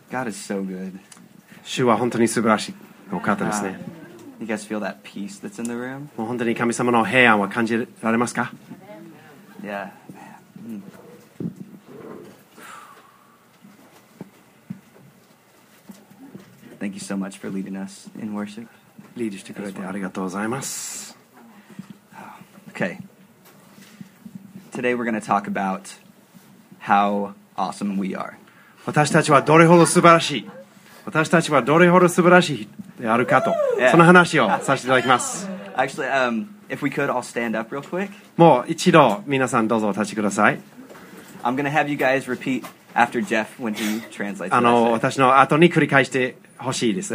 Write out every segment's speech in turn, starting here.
God is so good. 主は本当に素晴らしいお方ですね。 You guys feel that peace that's in the room? もう本当に神様の平安は感じられますか？ Yeah. Thank you so much for leading us in worship. リードしてくれてありがとうございます。 Okay. Today we're going to talk about how awesome we are. 私たちはどれほど素晴らしい、私たちはどれほど素晴らしいであるかと、その話をさせていただきます。 Actually, if we could all stand up real quick. もう一度皆さんどうぞお立ちください。 I'm going to have you guys repeat after Jeff when he translates. 私の後に繰り返してほしいです。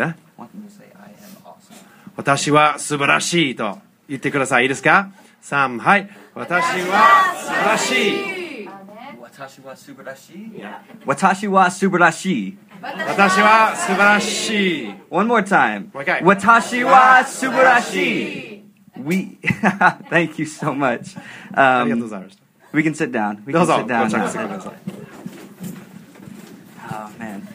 私は素晴らしいと言ってください。いいですか？3、はい。私は素晴らしい。 私は素晴らしい。私は素晴らしい。 私は素晴らしい。 One more time. もう一回。 私は素晴らしい。Thank you so much. ありがとうございました。 We can sit down. We ど can うぞ sit down ご着 now. 席ください。 Oh man.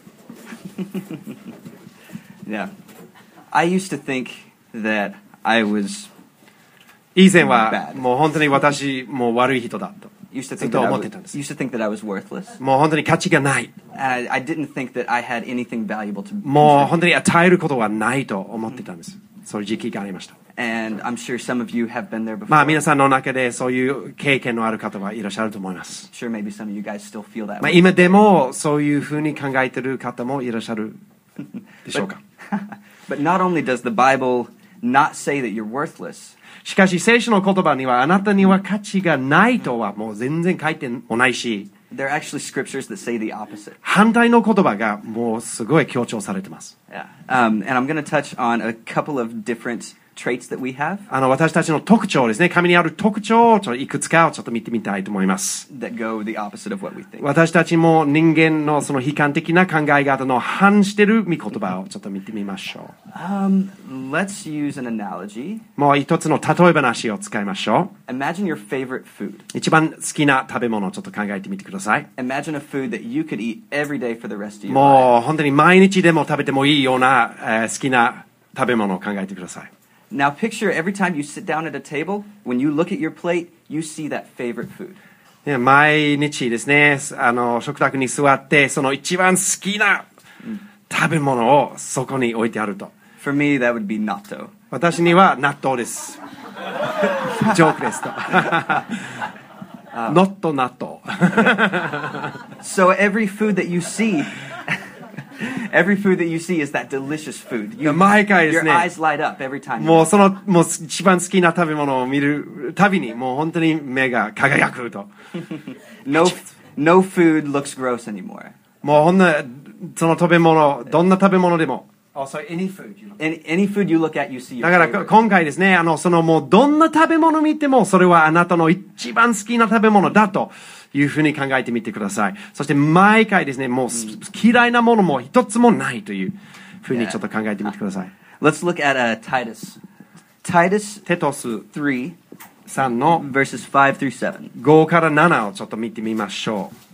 Yeah. I used to think that I was 以前はもう本当に私もう悪い人だと used to ずっ think と that I 思っ was, てたんです。 used to think that I was worthless. もう本当に価値がない。 And I didn't think that I had anything valuable to もう本 contribute. 当に与えることはないと思ってたんです。そういう時期がありました。 And I'm sure some of you have been there before. まあ皆さんの中でそういう経験のある方はいらっしゃると思います。 Sure, maybe some of you guys still feel that まあ way. 今でもそういうふうに考えている方もいらっしゃるでしょうか。 But not only does the Bible not say that you're worthless, しかし聖書の言葉にはあなたには価値がないとはもう全然書いてもないし、 there are actually scriptures that say the opposite. 反対の言葉がもうすごい強調されてます。 Yeah. And I'm going to touch on a couple of different traits that we have 私たちの特徴ですね。神にある特徴をいくつかをちょっと見てみたいと思います。 that go the opposite of what we think. 私たちも人間のその悲観的な考え方の反している御言葉をちょっと見てみましょ Let's use an analogy. う。もう一つの例え話を使いましょ Imagine your favorite food. う。一番好きな食べ物をちょっと考えてみてください。 Imagine a food that you could eat every day for the rest of your life. もう本当に毎日でも食べてもいいような、好きな食べ物を考えてください。 Now picture every time you sit down at a table, when you look at your plate, you see that favorite food. ね、毎日ですね、食卓に座ってその一番好きな食べ物をそこに置いてあると。 For me, that would be natto. 私には納豆です。ジョークですと。not 納豆。 So every food that you see, every food that you see is that delicious food. 毎回です Your ね、 eyes light up every time. もうもう一番好きな食べ物を見るたびにもう本当に目が輝くと。 No food looks gross anymore. もうその食べ物、どんな食べ物でも。Also, any food. Any food you look at, you see your だから favorite. 今回ですね、もうどんな食べ物見てもそれはあなたの一番好きな食べ物だというふうに考えてみてください。そして毎回ですね、もう嫌いなものも一つもないというふうにちょっと考えてみてください。 Let's look at Titus. Titus テトス 3, 3の verses 5 through 7. 5から7をちょっと見てみましょう。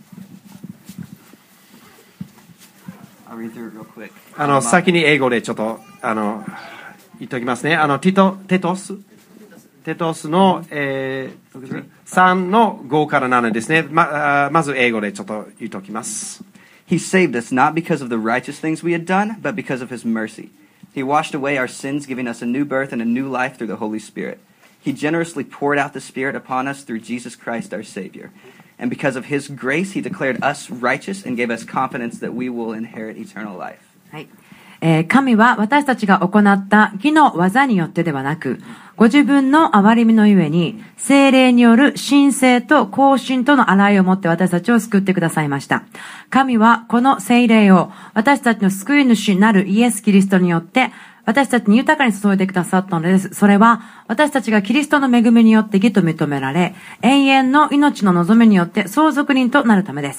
I'll read through it real quick. 先に英語でちょっと言っておきますね。テトスの、3の5から7ですね。まず英語でちょっと言っておきます。 He saved us not because of the righteous things we had done, but because of his mercy. He washed away our sins, giving us a new birth and a new life through the Holy Spirit. He generously poured out the Spirit upon us through Jesus Christ our Savior. And because of his grace, he declared us righteous and gave us confidence that we will inherit eternal life. はい。神は私たちが行った義の技によってではなく、ご自分の憐れみのゆえに、聖霊による神聖と更新との洗いをもって私たちを救ってくださいました。神はこの聖霊を私たちの救い主なるイエス・キリストによって、私たちに豊かに注いでくださったのです。それは、私たちがキリストの恵みによって義と認められ、永遠の命の望みによって相続人となるためです。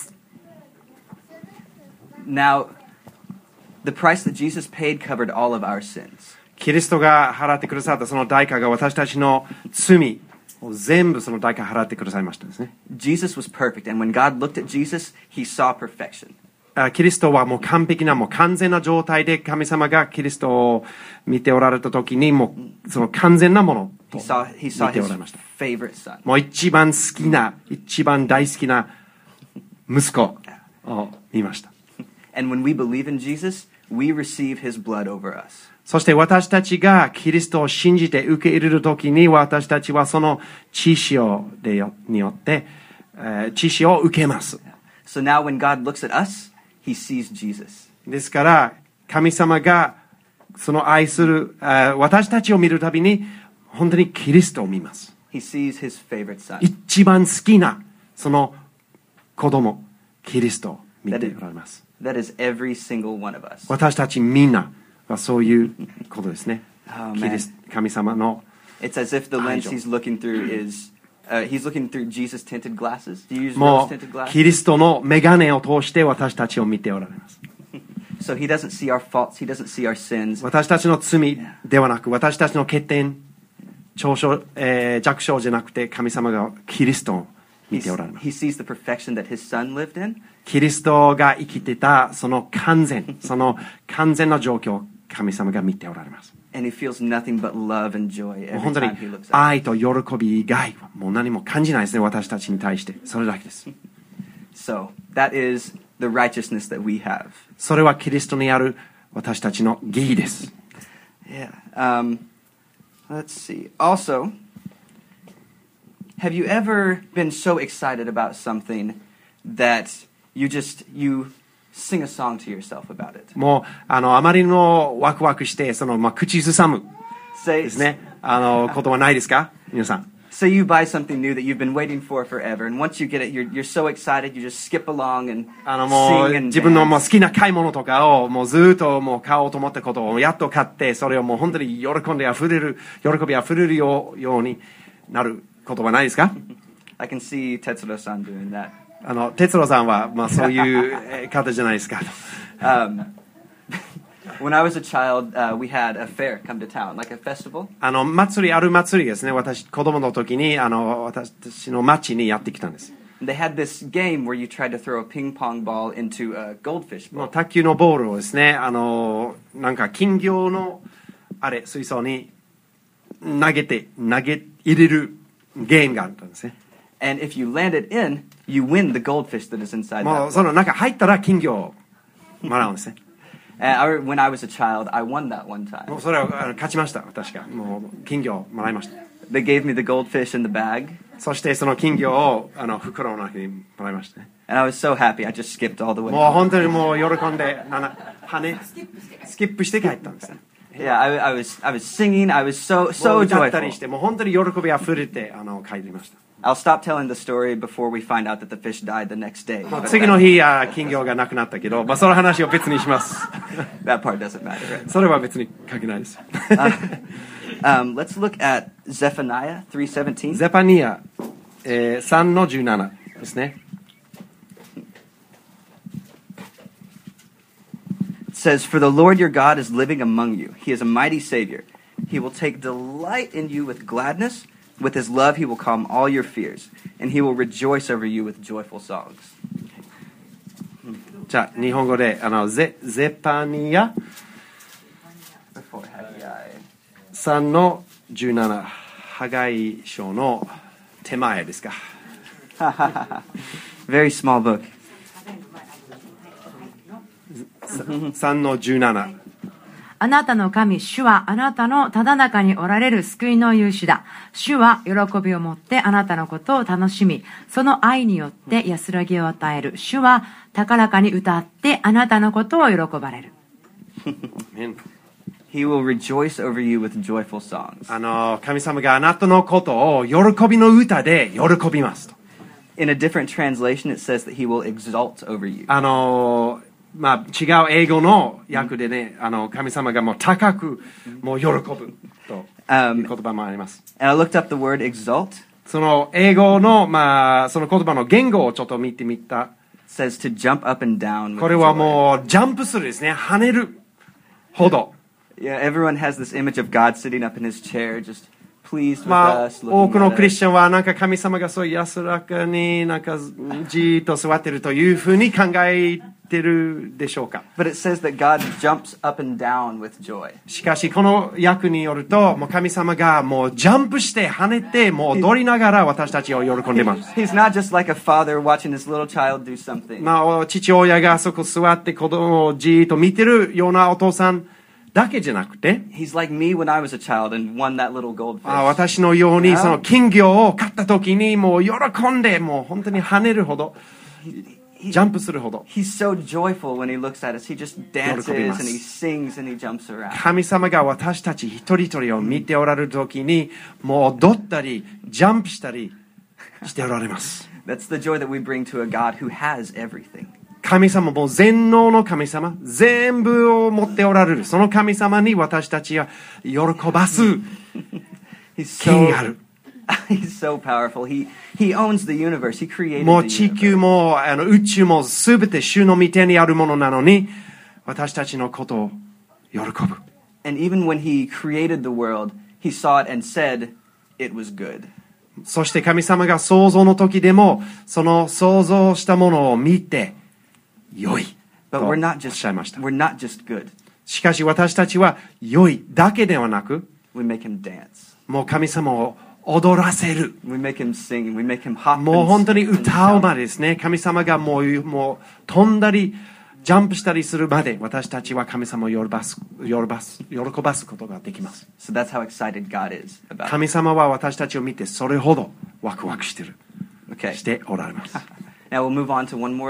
Now, the price that Jesus paid covered all of our sins. キリストが払ってくださったその代価が私たちの罪を全部その代価払ってくださいましたですね。 Jesus was perfect, and when God looked at Jesus, he saw perfection. キリストはもう完璧な、もう完全な状態で神様がキリストを見ておられた時に、もうその完全なものと He saw 見てお his られました。 favorite son. もう一番好きな、一番大好きな息子を見ました。 And when we believe in Jesus, we receive his blood over us. そして私たちがキリストを信じて受け入れるときに、私たちはその血潮によって、血潮を受けます。 So now when God looks at us, he sees Jesus. ですから、神様がその愛する私たちを見るたびに、本当にキリストを見ます。 He sees his favorite son. 一番好きなその子供、キリストを見ておられます。 That is every single one of us. 私たちみんなはそういうことですね。 Oh, 神様の It's as if the lens he's looking through is he's looking through Jesus tinted glasses. Do you use も rose tinted う glasses? キリストの眼鏡を通して私たちを見ておられます。 So he doesn't see our faults, he doesn't see our sins. 私たちの罪ではなく、私たちの欠点、長所、弱小じゃなくて、神様がキリストを見ておられます。 He sees the perfection that his son lived in. キリストが生きてたその完全な状況を神様が見ておられます。 And he feels nothing but love and joy もう every 本当に time he looks at us. 愛と喜び以外はもう何も感じないですね、私たちに対して。それだけです。 So that is the righteousness that we have. それはキリストにある私たちの義です。 Yeah. Let's see. Also, have you ever been so excited about something that you sing a song to yourself about it? もうあまりのワクワクして口ずさむで Say, すね。ことはないですか、皆さん。 say you buy something new that you've been waiting for forever, and once you get it, you're so excited, you just skip along and もう sing and 自分のもう dance. 好きな買い物とかをもうずっともう買おうと思ったことをやっと買って、それをもう本当に喜びあふれるようになることはないですか？ I can see Tetsuro-san doing that. 哲郎さんはそういう方じゃないですか。 When I was a child, we had a fair come to town, like a festival. ある祭りですね。私子供の時に私たちの町にやってきたんです。 They had this game where you tried to throw a ping pong ball into a goldfish もう bowl. 卓球のボールをですね、なんか金魚の水槽に投げ入れるゲームがあったんですね。 And if you land it in, you win the goldfish that is inside も that うそ bowl. の中入ったら金魚をもらうんですね。 When I was a child, I won that one も time. うそれを勝ちました、確か。もう金魚をもらいました。 They gave me the goldfish in the bag, そしてその金魚を袋の中にもらいましたね。 and I was so happy. I just skipped all the way. もう本当にもう喜んでスキップして帰ったんですね。 Yeah, I was singing. I was so もう歌った joyful. りしてもう本当に喜びあふれて帰りました。 I'll stop telling the story before we find out that the fish died the next day. もう But 次の日金魚がなくなったけど、その話を別にします。 that part doesn't matter, right? それは別に関係ないです。 Let's look at Zephaniah 3:17. ゼパニア、3の17ですね。 It says, "For the Lord your God is living among you. He is a mighty Savior. He will take delight in you with gladness. With his love he will calm all your fears. And he will rejoice over you with joyful songs." じゃあ日本語でゼパニア Before Haggai. 3の17、ハガイ書の手前ですか。 Very small book. 3の17。 あなたの神、主はあなたのただ中におられる救いの勇士だ。主は喜びを持ってあなたのことを楽しみ、その愛によって安らぎを与える。主は高らかに歌ってあなたのことを喜ばれる。 He will rejoice over you with joyful songs. 神様があなたのことを喜びの歌で喜びますと。 In a different translation, it says that he will exalt over you. 違う英語の訳でね、神様がもう高くもう喜ぶという言葉もあります。 And I looked up the word exalt. その英語のその言葉の言語をちょっと見てみた。 It says to jump up and down with これは joy. もうジャンプするですね、跳ねるほど。 Yeah, everyone has this image of God sitting up in his chair, just pleased with 多 us, く looking の at クリス us. チャンはなんか神様がそう安らかになんかじーっと座っているというふうに考えってるでしょうか。 But it says that God jumps up and down with joy. しかしこの訳によると、もう神様がもうジャンプして跳ねて、もう踊りながら私たちを喜んでいます。 He's not just like a father watching his little child do something. まあ、父親があそこ座って子供をじーっと見てるようなお父さんだけじゃなくて、 He's like me when I was a child and won that little goldfish. 私のようにその金魚を買った時にもう喜んで、もう本当に跳ねるほど、ジャンプするほど。 He's so joyful when he looks at us. He just dances and he sings and he jumps around. 神様が私たち一人一人を見ておられる時に、もう踊ったり、ジャンプしたりしておられます。 That's the joy that we bring to a God who has everything. 神様も全能の神様、全部を持っておられる。その神様に私たちは喜ばす He's 権がある。 He's so powerful. He owns the universe. He created もう the 地球 universe. も宇宙もすべて主の御手にあるものなのに、私たちのことを喜ぶ。 And even when he created the world, he saw it and said it was good. そして神様が創造の時でも、その創造したものを見て、良い But とお we're not っ just しゃいました。 we're not just good. しかし私たちは良いだけではなく、 We make him dance. もう神様を踊らせる。 We make him sing. We make him hop. もう And 本当に skip and 歌う shout. までですね。神様がもう飛んだり、ジャンプしたりするまで、私たちは神様を喜ばすことができます。 So that's how excited God is about it. 神様は私たちを見てそれほどワクワクしてる。 Okay. しておられます。 Now we'll move on to one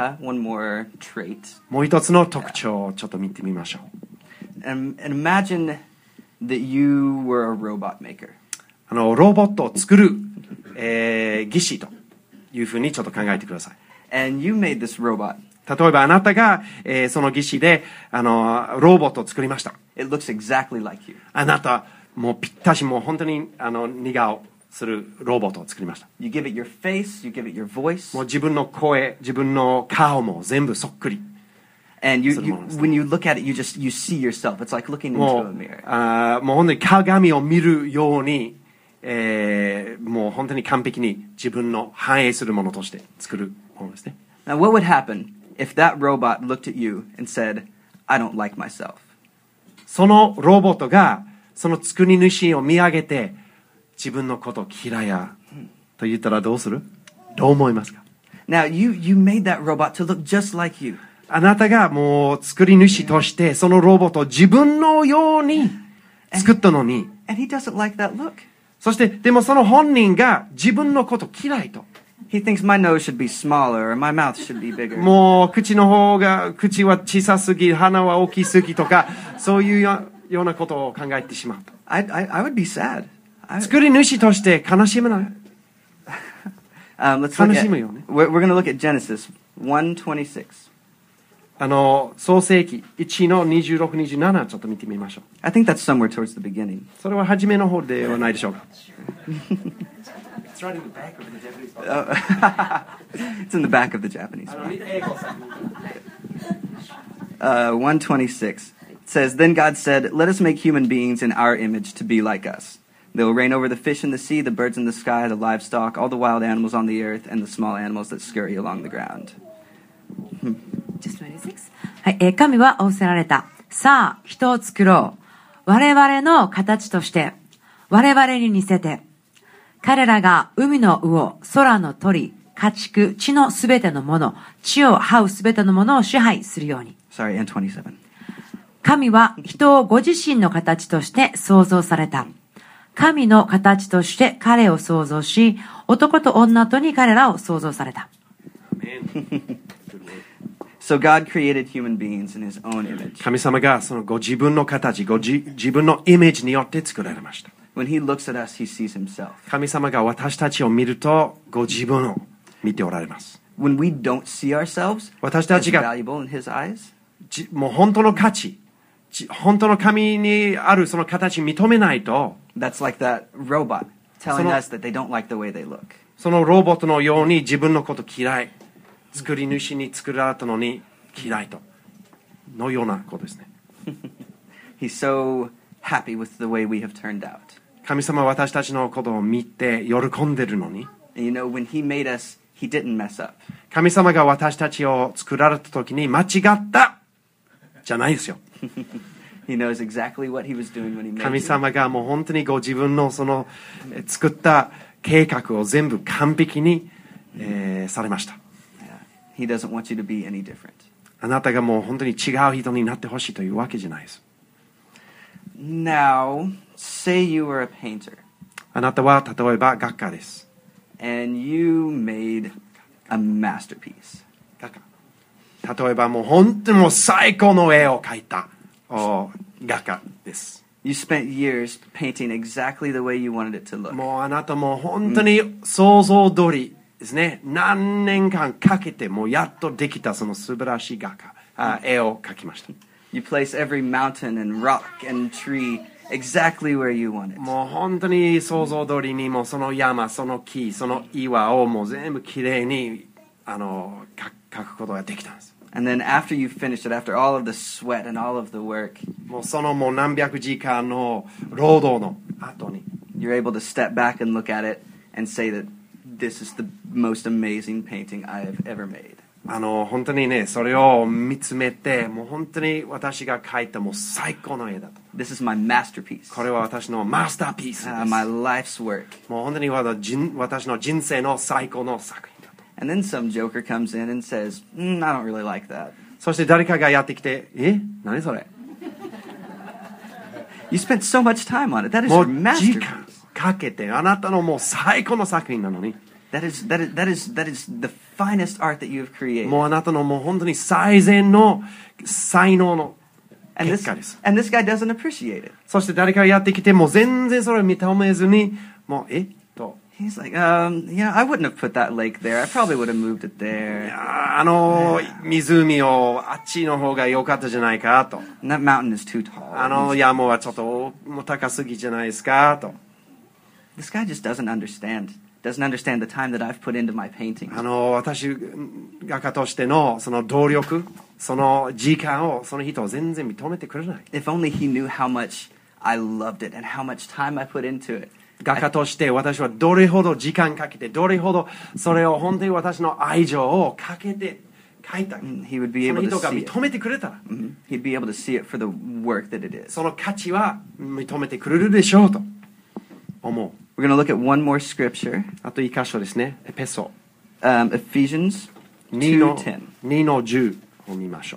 more trait. もう一つの特徴をちょっと見てみましょう。 And imagine that you were a robot maker. ロボットを作る、技師というふうにちょっと考えてください。 And you made this robot. 例えばあなたが、その技師でロボットを作りました。 It looks exactly like you. あなたもうぴったしもう本当に似顔するロボットを作りました。 You give it your face. You give it your voice. もう自分の声、自分の顔も全部そっくり。 And when you look at it, you see yourself. It's like looking into も a う mirror. もう本当に鏡を見るように、もう本当に完璧に自分の反映するものとして作るものですね。 Now, what would happen if that robot looked at you and said, "I don't like myself"? そのロボットがその作り主を見上げて自分のこと嫌いやと言ったらどうする？どう思いますか？ Now, you made that robot to look just like you. あなたがもう作り主としてそのロボットを自分のように作ったのに、 And he doesn't like that look. そしてでもその本人が自分のこと嫌いと。 He thinks my nose should be smaller or my mouth should be bigger. もう口は小さすぎ、鼻は大きすぎとか、そういうようなことを考えてしまうと。 I would be sad. 作り主として悲しむな。 Let's look 悲 at, しむよね。 we're going to look at Genesis 1:26. 創世記1の26、27ちょっと見てみましょう。 I think that's somewhere towards the beginning. それは初めの方ではないでしょうか。 It's in the back of the Japanese. 1:26. It says, "Then God said, Let us make human beings in our image to be like us. They will reign over the fish in the sea, the birds in the sky, the livestock, all the wild animals on the earth, and the small animals that scurry along the ground." Just 26. はい、神は仰せられた。さあ、人を作ろう。我々の形として、我々に似せて、彼らが海の魚、空の鳥、家畜、地のすべてのもの、地を這うすべてのものを支配するように。 Sorry, and 27. 神は人をご自身の形として創造された。神の形として彼を創造し、男と女とに彼らを創造された。 So God created human beings in his own image. 神様がそのご自分の形、自分のイメージによって作られました。 When he looks at us, he sees himself. 神様が私たちを見るとご自分を見ておられます。 When we don't see ourselves 私た as ちが valuable in his eyes, もう本当の価値、本当の神にあるその形を認めないと、 that's like that robot telling その us that they don't like the way they look. そのロボットのように自分のこと嫌い、作り主に作られたのに嫌いとのようなことですね。 He's so happy with the way we have turned out. 神様は私たちのことを見て喜んでるのに、 And you know, when he made us, he didn't mess up. 神様が私たちを作られた時に間違ったじゃないですよ。 He knows exactly what he was doing when he made 神 you. 様がもう本当にご自分のその作った計画を全部完璧に、されました。 Yeah. He doesn't want you to be any different. あなたがもう本当に違う人になってほしいというわけじゃないです。 Now, say you were a painter あなたは例えば画家です。 and you made a masterpiece. 画家。例えばもう本当にもう最高の絵を描いた画家です。 You spent years painting exactly the way you wanted it to look. もうあなたも本当に想像通りですね。何年間かけてもうやっとできたその素晴らしい絵を描きました。 You place every mountain and rock and tree exactly where you want it. もう本当に想像通りにもうその山、その木、その岩をもう全部きれいに描くことができたんです。 And then after you finished it, after all of the sweat and all of the work, もうそのもう何百時間の労働の後に you're able to step back and look at it and say that this is the most amazing painting I have ever made. 本当にねそれを見つめてもう本当に私が描いたもう最高の絵だと。 This is my masterpiece. これは私のマスターピースです。 My life's work. もう本当に私の人生の最高の作品だと。 And then some joker comes in and says, I don't really like that. そして誰かがやってきて、何それ You spent so much time on it. That is も your う時 masterpiece. 間かけてあなたのもう最高の作品なのに。 That is the finest art that you have created. もうあなたのもう本当に最善の才能の And 結 this, 果です。 and this guy doesn't appreciate it. そして誰かがやってきてもう全然それを認めずにもうと He's like, I wouldn't have put that lake there. I probably would have moved it there. 湖をあっちの方が良かったじゃないかと。 And that mountain is too tall. 山はちょっともう高すぎじゃないですかと。 This guy just doesn't understand the time that I've put into my painting. 私画家としてのその動力、その時間をその人を全然認めてくれない。 If only he knew how much I loved it and how much time I put into it. 画家として私はどれほど時間かけてどれほどそれを本当に私の愛情をかけて描いた。 He would be その able 人 to が see it. 認めてくれたら He'd be able to see it for the work that it is. その価値は認めてくれるでしょうと思う。 We're going to look at one more scripture, あと一箇所ですね。エペソ Ephesians 2の 2:10. 2の10を見ましょう。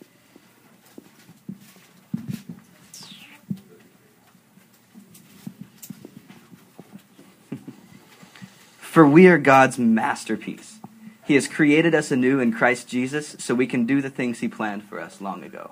For we are God's masterpiece. He has created us anew in Christ Jesus so we can do the things He planned for us long ago.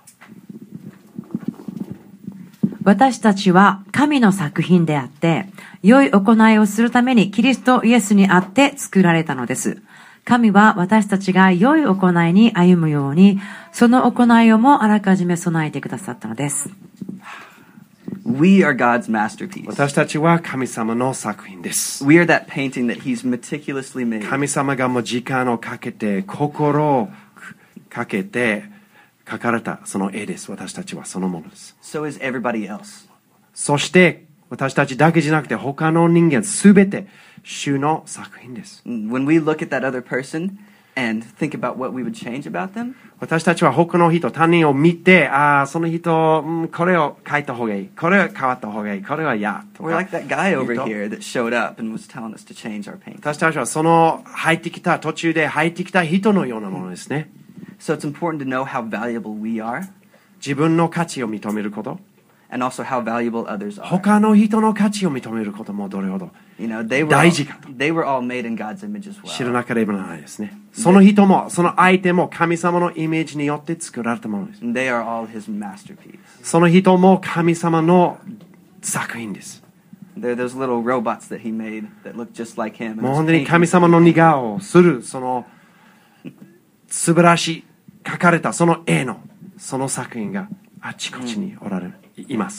私たちは神の作品であって、良い行いをするためにキリストイエスにあって作られたのです。神は私たちが良い行いに歩むように、その行いをもあらかじめ備えてくださったのです。 We are God's masterpiece. 私たちは神様の作品です。 We are that painting that He's meticulously made. 神様がもう時間をかけて心をかけて描かれたその絵です。私たちはそのものです。 So is everybody else. そして私たちだけじゃなくて他の人間すべて主の作品です。 When we look at that other person and think about what we would change about them, 私たちは他の人、他人を見て、その人、これを書いた方がいい、これは変わった方がいい、これは嫌と we're か like that guy over 言うと here that showed up and was telling us to change our painting. 私たちはその途中で入ってきた人のようなものですね。 So it's important to know how valuable we are 自分の価値を認めること、 and also how valuable others are. 他の人の価値を認めることもどれほど You know, they were 大事かと。 all made in God's image as 知ら well. なければならないですね。その人も、その相手も神様のイメージによって作られたものです。 And they are all His masterpiece. その人も神様の作品です。 They're those little robots that He made that look just like Him. もう本当に神様の似顔をする、その素晴らしい描かれたその絵の、その作品があちこちにおられる、います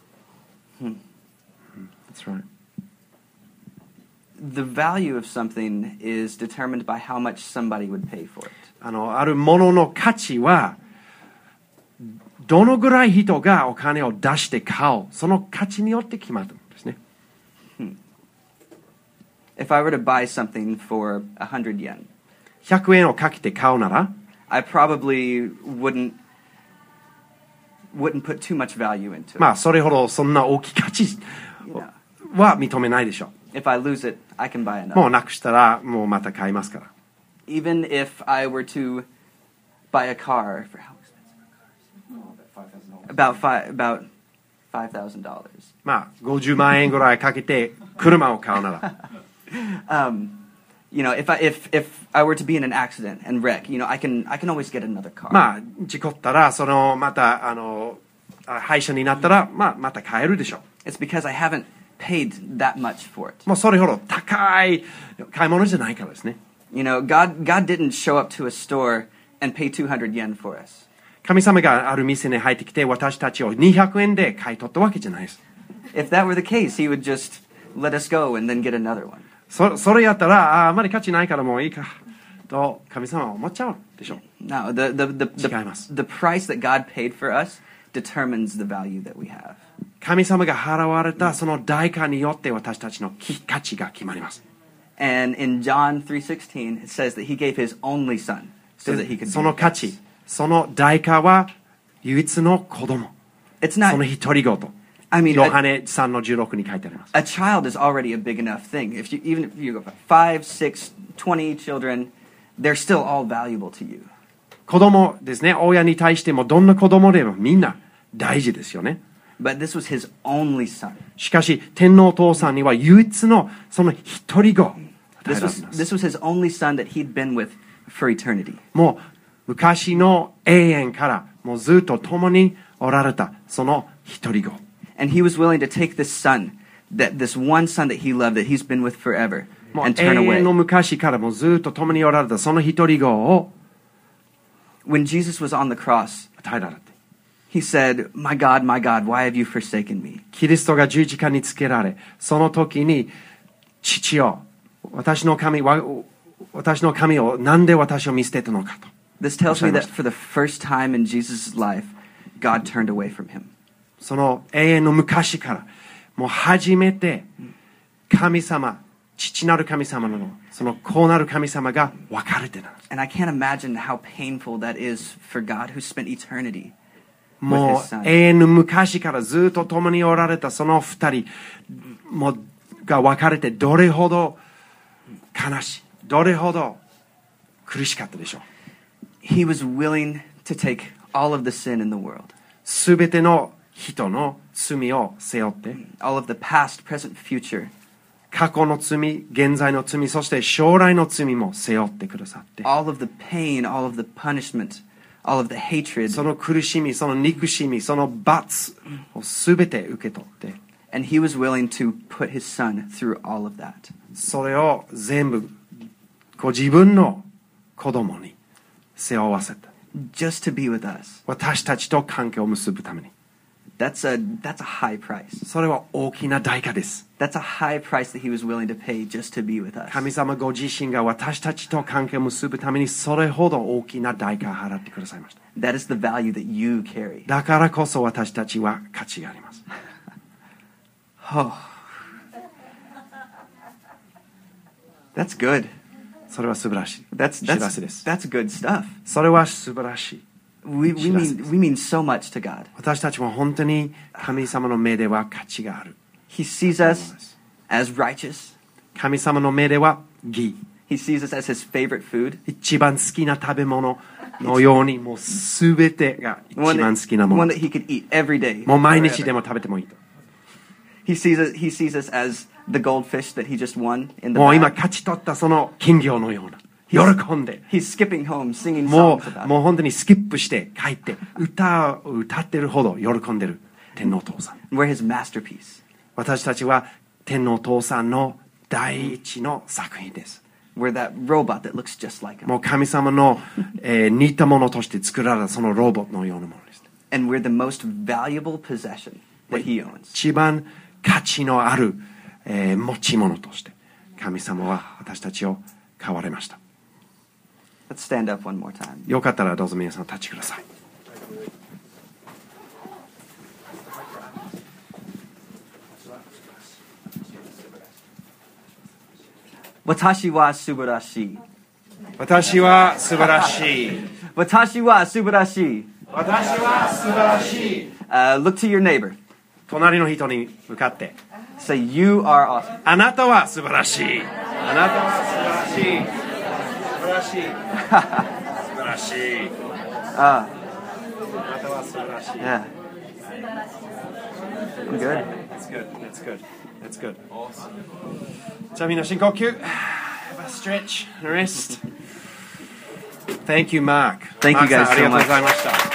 。That's right. The value of something is determined by how much somebody would pay for it. あるものの価値は、どのぐらい人がお金を出して買おう、その価値によって決まるんですね。 If I were to buy something for 100 yen, 100円をかけて買うなら、 I probably wouldn't put too much value into it. まあそれほどそんな大きい価値 You know, は認めないでしょ if I lose it, I can buy う。 another. もうなくしたらもうまた買いますから。 Even if I were to buy a car for how expensive? About $5,000. まあ50万円ぐらいかけて車を買うなら、 You know, if I were to be in an accident and wreck, you know, I can always get another car. まあ事故ったらそのまた廃車になったら、まあ、また買えるでしょ It's because I haven't paid that much for it. う。もうそれほど高い買い物じゃないからですね。 You know, God didn't show up to a store and pay 200 yen for us. 神様がある店に入ってきて私たちを200円で買い取ったわけじゃないです。 If that were the case, he would just let us go and then get another one. それやったらあまり価値ないからもういいかと神様は思っちゃうでしょう。 No, 違います。 the price that God paid for us determines the value that we have. 神様が払われたその代価によって私たちの価値が決まります。 And in John 3:16, it says that he gave his only son so that he could そ be の with 価 us. 値、その代価は唯一の子供、 It's そ not, の独り言。 I mean, ヨハネ3の16に書いてあります。 a child is already a big enough thing. Even if you go 5, 6, 20 children, they're still all valuable to you. 子供ですね、親に対してもどんな子供でもみんな大事ですよね。 But this was his only son. しかし天皇お父さんには唯一のその独り子を与え This られ was ます。 this was his only son that he'd been with for eternity. もう昔の永遠からもうずっと共におられたその独り子。 And he was willing to take this son, this one son that he loved, that he's been with forever, もう and 永 turn 遠 away. の昔からもうずっと共におられたその独り子を When Jesus was on the cross, 与えられて、 he said, my God, why have you forsaken me?" キリストが十字架につけられ、その時に父よ、私の神をなんで私を見捨てたのかと。 This tells me that for the first time in Jesus' life, God turned away from him. その永遠の昔からもう初めて神様、父なる神様のその子なる神様が別れてなる。 And I can't imagine how painful that is for God who spent eternity. も with his う son. 永遠の昔からずっと共におられたその二人もが別れてどれほど悲しい、どれほど苦しかったでしょう。 He was willing to take all of the sin in the world, すべての人の罪を背負って、 all of the past, present, future, 過去の罪、現在の罪、そして将来の罪も背負ってくださって、 all of the pain, all of the punishment, all of the hatred, その苦しみ、その憎しみ、その罰をすべて受け取って、 and he was willing to put his son through all of that. それを全部ご自分の子供に背負わせた。 Just to be with us. 私たちと関係を結ぶために。 That's a high price. それは大きな代価です。 That's a high price that he was willing to pay just to be with us. 神様ご自身が私たちと関係を結ぶためにそれほど大きな代価を払ってくださいました。 That is the value that you carry. だからこそ私たちは価値があります。 Oh. That's good. それは素晴らしい。 That's 知らせです。 good stuff. それは素晴らしい。 We mean so much to God. 私たちも本当に神様の目では価値がある。 He sees us as righteous. 神様の目では義。 He sees us as his favorite food. 一番好きな食べ物のようにもうすべてが一 One 番 that, 好きなも one の。 that he could eat every day. もう毎日で forever. も食べてもいいと。 He sees us as the goldfish that he just won in the もう今 bag. 勝ち取ったその金魚のような。喜んで。 He's skipping home, singing も songs about う本当にスキップして帰って歌を歌ってるほど喜んでる天皇お父さん。 it. We're his masterpiece. 私たちは天皇お父さんの第一の作品です。 We're that robot that looks just like him. もう神様の、似たものとして作られたそのロボットのようなものです。 And we're the most valuable possession that he owns. 一番価値のある、持ち物として神様は私たちを買われました。 Let's stand up one more time. よかったらどうぞ皆さん立ちください。 Watashi wa subarashi. 私は素晴らしい。 Watashi wa subarashi. 私は素晴らしい。 Look to your neighbor. 隣の人に向かって。 Say, you are awesome. あなたは素晴らしい。あなたは素晴らしい。素晴らしい。素晴らしい。あなたは素晴らしい。 Yeah. I'm good. That's good. That's good. That's good. じゃあみんな深呼吸。Stretch, rest. Thank you, Mark. Thank you guys Mark さんありがとう so ございました。